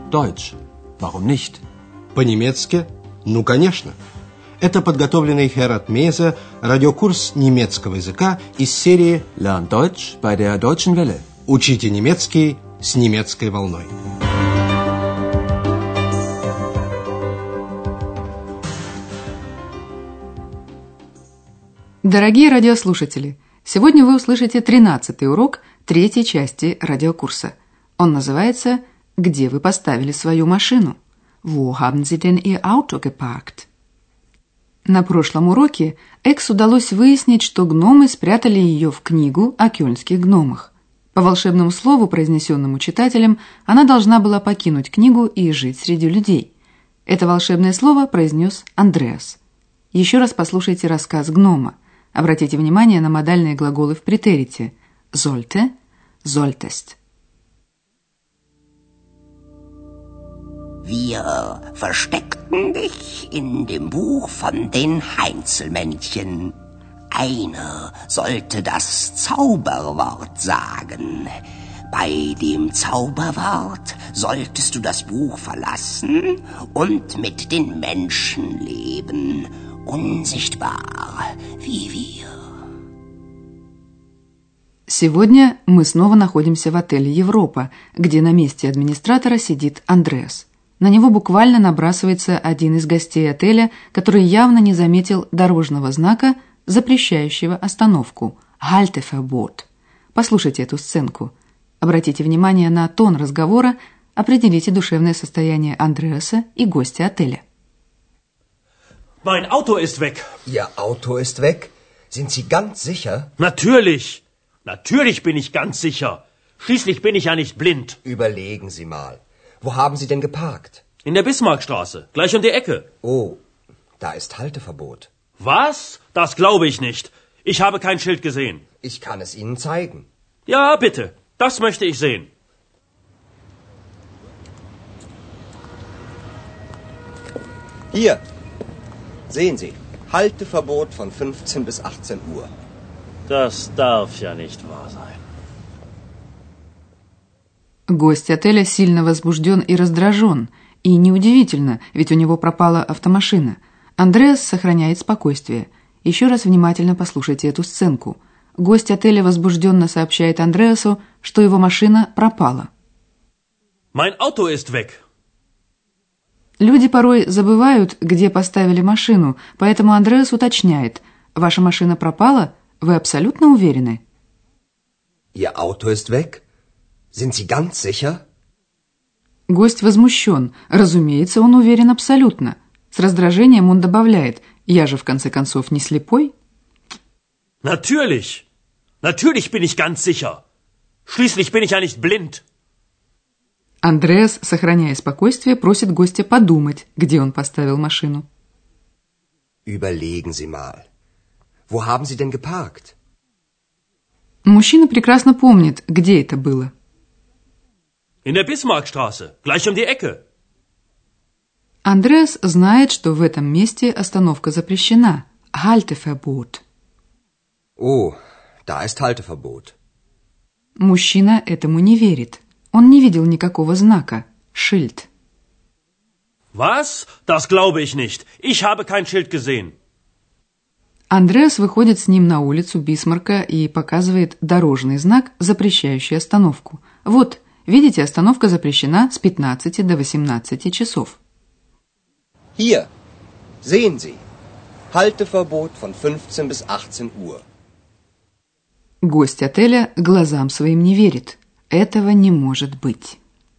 Deutsch. Warum nicht? По-немецки? Ну, конечно. Это подготовленный Херат Мейзе радиокурс немецкого языка из серии Lern Deutsch bei der Deutschen Welle. «Учите немецкий с немецкой волной». Дорогие радиослушатели, сегодня вы услышите 13-й урок 3-й части радиокурса. Он называется «Где вы поставили свою машину?» Wo haben Sie denn Ihr Auto geparkt? На прошлом уроке Экс удалось выяснить, что гномы спрятали ее в книгу о кёльнских гномах. По волшебному слову, произнесенному читателем, она должна была покинуть книгу и жить среди людей. Это волшебное слово произнес Андреас. Еще раз послушайте рассказ гнома. Обратите внимание на модальные глаголы в претерите. Sollte, solltest. Wir versteckten dich in dem Buch von den Heinzelmännchen. Einer sollte das Zauberwort sagen. Bei dem Zauberwort solltest du das Buch verlassen und mit den Menschen leben, unsichtbar wie wir. Сегодня мы снова находимся в отеле «Европа», где на месте администратора сидит Андреас. На него буквально набрасывается один из гостей отеля, который явно не заметил дорожного знака, запрещающего остановку «Halteverbot». Послушайте эту сценку. Обратите внимание на тон разговора, определите душевное состояние Андреаса и гостя отеля. Mein Auto ist weg. Ihr Auto ist weg? Sind Sie ganz sicher? Natürlich. Natürlich bin ich ganz sicher. Schließlich bin ich ja nicht blind. Überlegen Sie mal. Wo haben Sie denn geparkt? In der Bismarckstraße, gleich um die Ecke. Oh, da ist Halteverbot. Was? Das glaube ich nicht. Ich habe kein Schild gesehen. Ich kann es Ihnen zeigen. Ja, bitte. Das möchte ich sehen. Hier. Sehen Sie. Halteverbot von 15 bis 18 Uhr. Das darf ja nicht wahr sein. Гость отеля сильно возбужден и раздражен. И неудивительно, ведь у него пропала автомашина. Андреас сохраняет спокойствие. Еще раз внимательно послушайте эту сценку. Гость отеля возбужденно сообщает Андреасу, что его машина пропала. Mein Auto ist weg. Люди порой забывают, где поставили машину, поэтому Андреас уточняет. Ваша машина пропала? Вы абсолютно уверены? Ihr Auto ist weg? Sind Sie ganz sicher? Гость возмущен. Разумеется, он уверен абсолютно. С раздражением он добавляет. Я же, в конце концов, не слепой. Natürlich. Natürlich bin ich ganz sicher. Schließlich bin ich ja nicht blind. Андреас, сохраняя спокойствие, просит гостя подумать, где он поставил машину. Überlegen Sie mal. Wo haben Sie denn geparkt? Мужчина прекрасно помнит, где это было. In der Bismarckstraße, gleich um die Ecke. Андреас знает, что в этом месте остановка запрещена. Halteverbot. Oh, da ist Halteverbot. Мужчина этому не верит. Он не видел никакого знака. Schild. Was? Das glaube ich nicht. Ich habe kein Schild gesehen. Андреас выходит с ним на улицу Бисмарка и показывает дорожный знак, запрещающий остановку. Вот, видите, остановка запрещена с 15 до 18 часов. Hier, sehen Sie. Halteverbot von 15 bis 18 Uhr. Гость отеля глазам своим не верит. Этого не может быть.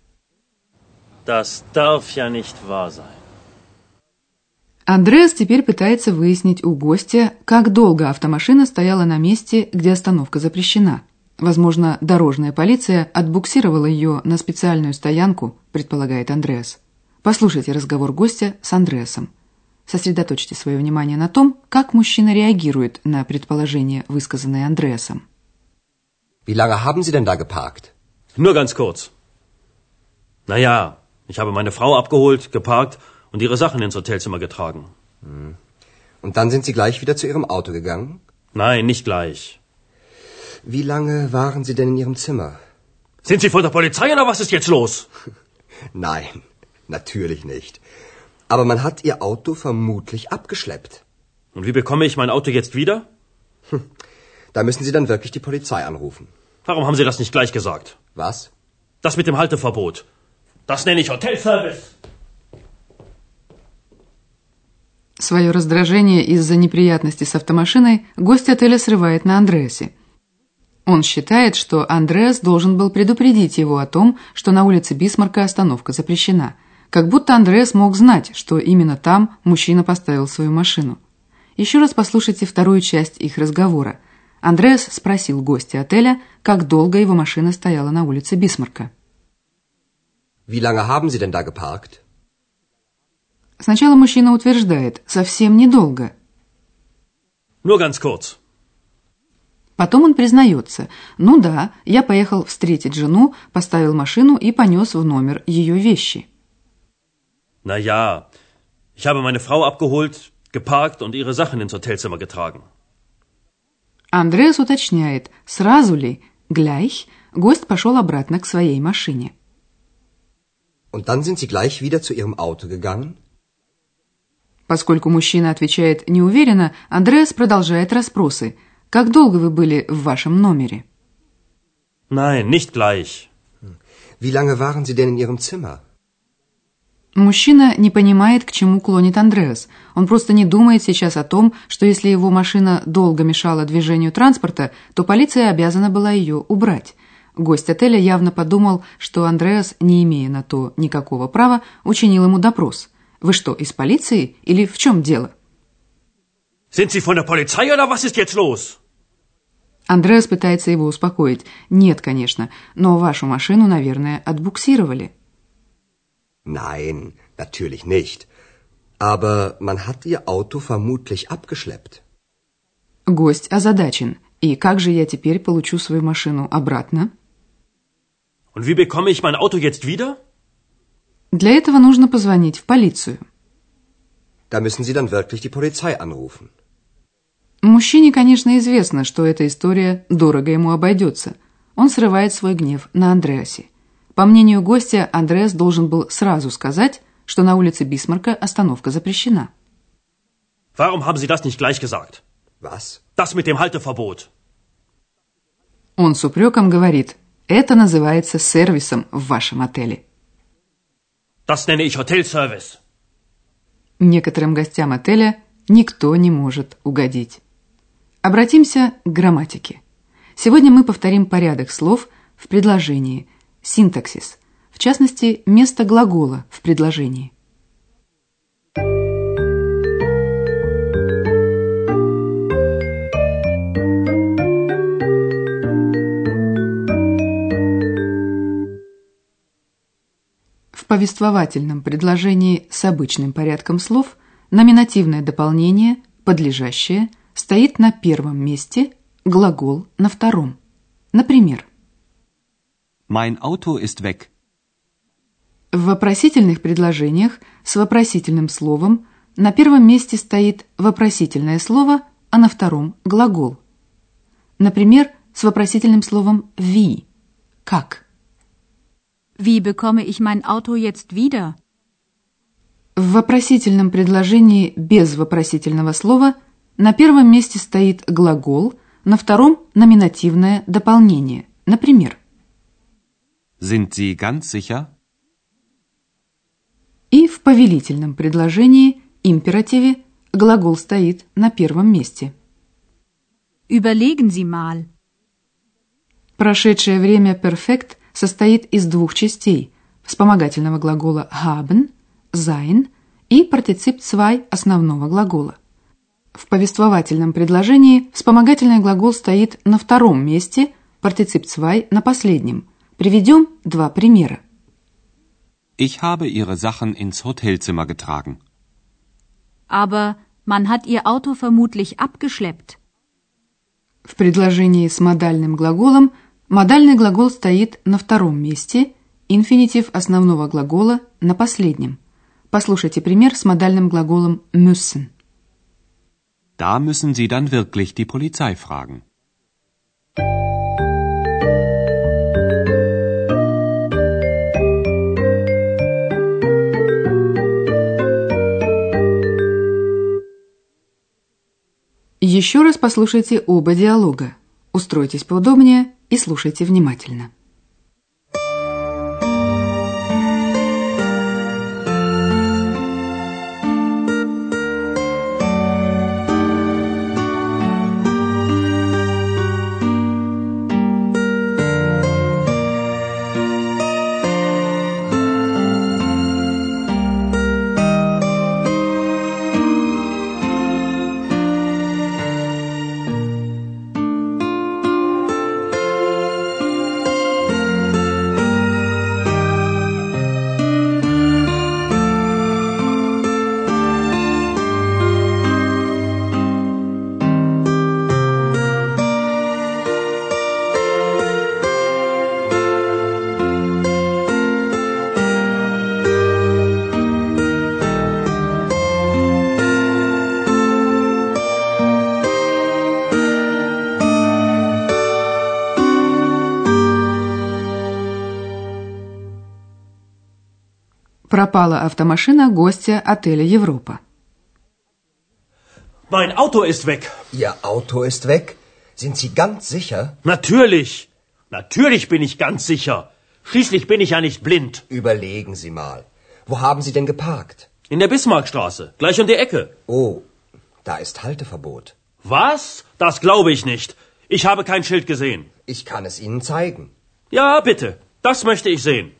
Das darf ja nicht wahr sein. Андреас теперь пытается выяснить у гостя, как долго автомашина стояла на месте, где остановка запрещена. Возможно, дорожная полиция отбуксировала ее на специальную стоянку, предполагает Андреас. Послушайте разговор гостя с Андреасом. Сосредоточьте свое внимание на том, как мужчина реагирует на предположение, высказанное Андреасом. Wie lange haben Sie denn da geparkt? Nur ganz kurz. Naja, ich habe meine Frau abgeholt, geparkt und ihre Sachen ins Hotelzimmer getragen. Und dann sind Sie gleich wieder zu Ihrem Auto gegangen? Nein, nicht gleich. Wie lange waren Sie denn in Ihrem Zimmer? Sind Sie von der Polizei oder was ist jetzt los? Nein, natürlich nicht. Aber man hat Ihr Auto vermutlich abgeschleppt. Und wie bekomme ich mein Auto jetzt wieder? Da müssen Sie dann wirklich die Polizei anrufen. Warum haben Sie das nicht gleich gesagt? Was? Das mit dem Halteverbot. Das nenne ich Hotelservice. Свое раздражение из-за неприятностей с автомашиной гость отеля срывает на Андреасе. Он считает, что Андреас должен был предупредить его о том, что на улице Бисмарка остановка запрещена. Как будто Андреас мог знать, что именно там мужчина поставил свою машину. Еще раз послушайте вторую часть их разговора. Андреас спросил гостя отеля, как долго его машина стояла на улице Бисмарка. Wie lange haben Sie denn da geparkt? Сначала мужчина утверждает, совсем недолго. Nur ganz kurz. Потом он признается, ну да, я поехал встретить жену, поставил машину и понес в номер ее вещи. Na ja, ich habe meine Frau abgeholt, geparkt und ihre Sachen ins Hotelzimmer getragen. Андреас уточняет, сразу ли, gleich, гость пошел обратно к своей машине. Und dann sind Sie gleich wieder zu Ihrem Auto gegangen? Поскольку мужчина отвечает неуверенно, Андреас продолжает расспросы. Как долго вы были в вашем номере? Nein, nicht gleich. Wie lange waren Sie denn in Ihrem Zimmer? Мужчина не понимает, к чему клонит Андреас. Он просто не думает сейчас о том, что если его машина долго мешала движению транспорта, то полиция обязана была ее убрать. Гость отеля явно подумал, что Андреас, не имея на то никакого права, учинил ему допрос. Вы что, из полиции или в чем дело? Sind Sie von der Polizei oder was ist jetzt los? Андреас пытается его успокоить. Нет, конечно, но вашу машину, наверное, отбуксировали. Nein, natürlich nicht. Aber man hat Ihr Auto vermutlich abgeschleppt. Гость озадачен. И как же я теперь получу свою машину обратно? Und wie bekomme ich mein Auto jetzt wieder? Для этого нужно позвонить в полицию. Da müssen Sie dann wirklich die Polizei anrufen. Мужчине, конечно, известно, что эта история дорого ему обойдется. Он срывает свой гнев на Андреасе. По мнению гостя, Андреас должен был сразу сказать, что на улице Бисмарка остановка запрещена. Warum haben Sie das nicht gleich gesagt? Was? Das mit dem Halteverbot. Он с упреком говорит, это называется сервисом в вашем отеле. Das nenne ich Hotelservice. Некоторым гостям отеля никто не может угодить. Обратимся к грамматике. Сегодня мы повторим порядок слов в предложении, синтаксис, в частности, место глагола в предложении. В повествовательном предложении с обычным порядком слов номинативное дополнение, подлежащее, стоит на первом месте, глагол на втором. Например, Mein Auto ist weg. в вопросительных предложениях с вопросительным словом на первом месте стоит вопросительное слово, а на втором – глагол. Например, с вопросительным словом wie – как. Wie bekomme ich mein Auto jetzt wieder? В вопросительном предложении без вопросительного слова на первом месте стоит глагол, на втором – номинативное дополнение. Например, Sind Sie ganz sicher? и в повелительном предложении, императиве, глагол стоит на первом месте. Überlegen Sie mal. Прошедшее время перфект состоит из двух частей – вспомогательного глагола haben, sein и партицип zwei основного глагола. В повествовательном предложении вспомогательный глагол стоит на втором месте, партицип zwei на последнем. Приведем два примера. Ich habe Ihre Sachen ins Hotelzimmer getragen. Aber man hat Ihr Auto vermutlich abgeschleppt. В предложении с модальным глаголом модальный глагол стоит на втором месте, инфинитив основного глагола на последнем. Послушайте пример с модальным глаголом müssen. Da müssen Sie dann wirklich die Polizei fragen. Еще раз послушайте оба диалога. Устройтесь поудобнее и слушайте внимательно. Пропала автомашина гостя отеля «Европа». Mein Auto ist weg. Ihr Auto ist weg? Sind Sie ganz sicher? Natürlich. Natürlich bin ich ganz sicher. Schließlich bin ich ja nicht blind. Überlegen Sie mal. Wo haben Sie denn geparkt? In der Bismarckstraße, gleich um die Ecke. Oh, da ist Halteverbot. Was? Das glaube ich nicht. Ich habe kein Schild gesehen. Ich kann es Ihnen zeigen. Ja, bitte. Das möchte ich sehen.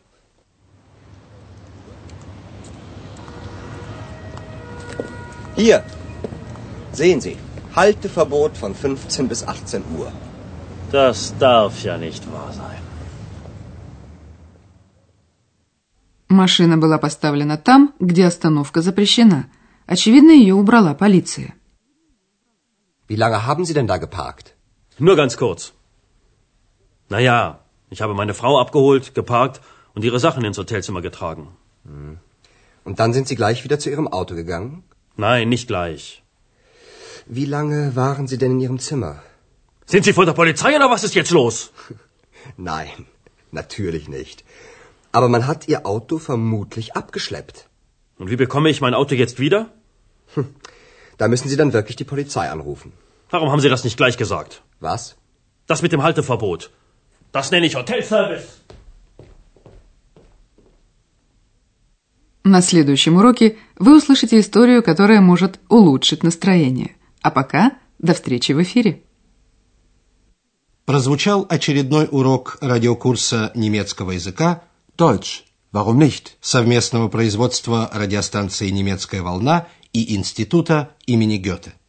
Hier. Sehen Sie. Halteverbot von 15 bis 18 Uhr. Das darf ja nicht wahr sein. Машина была поставлена там, где остановка запрещена. Очевидно, ее убрала полиция. Wie lange haben Sie denn da geparkt? Nur ganz kurz. Naja, ich habe meine Frau abgeholt, geparkt und ihre Sachen ins Hotelzimmer getragen. Und dann sind Sie gleich wieder zu Ihrem Auto gegangen? Nein, nicht gleich. Wie lange waren Sie denn in Ihrem Zimmer? Sind Sie von der Polizei oder was ist jetzt los? Nein, natürlich nicht. Aber man hat Ihr Auto vermutlich abgeschleppt. Und wie bekomme ich mein Auto jetzt wieder? Da müssen Sie dann wirklich die Polizei anrufen. Warum haben Sie das nicht gleich gesagt? Was? Das mit dem Halteverbot. Das nenne ich Hotelservice. На следующем уроке вы услышите историю, которая может улучшить настроение. А пока до встречи в эфире. Прозвучал очередной урок радиокурса немецкого языка Deutsch. Warum nicht? совместного производства радиостанции «Немецкая волна» и Института имени Гёте.